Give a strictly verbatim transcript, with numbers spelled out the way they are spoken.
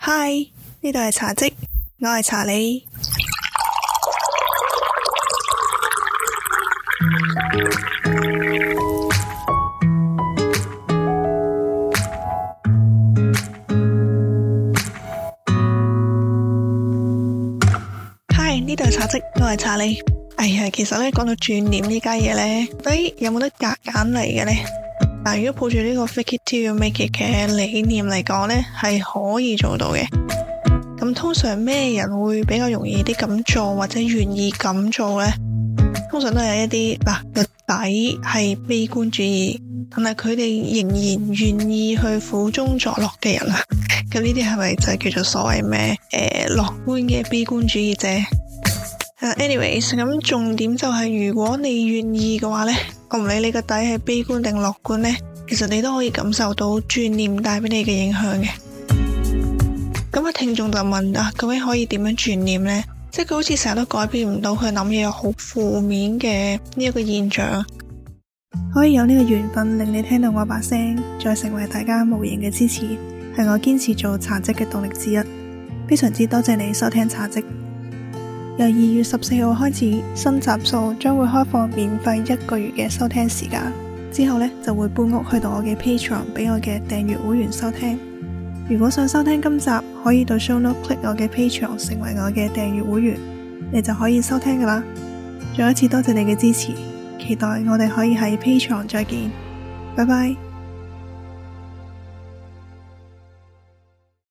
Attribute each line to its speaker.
Speaker 1: 嗨，呢度係茶嘖，我係查理。嗨，呢度係茶嘖，我係查理。哎呀，其實咧講到轉念呢家嘢呢，到底有冇得夾硬嚟嘅呢？嗱，如果抱住呢個 fake it till you make it 嘅理念嚟講呢，係可以做到嘅。咁通常咩人會比較容易啲咁做，或者願意咁做呢？通常都係一啲嗱個底係悲觀主義，但係佢哋仍然願意去苦中作樂嘅人啊。咁呢啲係咪就係叫做所謂咩誒樂觀嘅悲觀主義者？Anyways，咁重點就係、是、如果你願意嘅話呢，我唔理你個底係悲觀定樂觀呢，其實你都可以感受到轉念帶俾你嘅影響嘅。咁啊，聽眾就問啊，究竟可以點樣轉念呢？即係佢好似成日都改變唔到佢諗嘢有好負面嘅呢一個現象。可以有呢個緣分令你聽到我把聲，再成為大家無形嘅支持，係我堅持做茶嘖嘅動力之一。非常之多謝你收聽茶嘖。由二月十四號開始，新集數將會開放免費一個月嘅收聽時間，之後呢，就會搬屋去到我嘅 Patreon 俾我嘅訂閱會員收聽。如果想收聽今集，可以到 show note click 我嘅 Patreon 成為我嘅訂閱會員，你就可以收聽噶啦。再一次多謝你嘅支持，期待我哋可以喺 Patreon 再見，拜拜。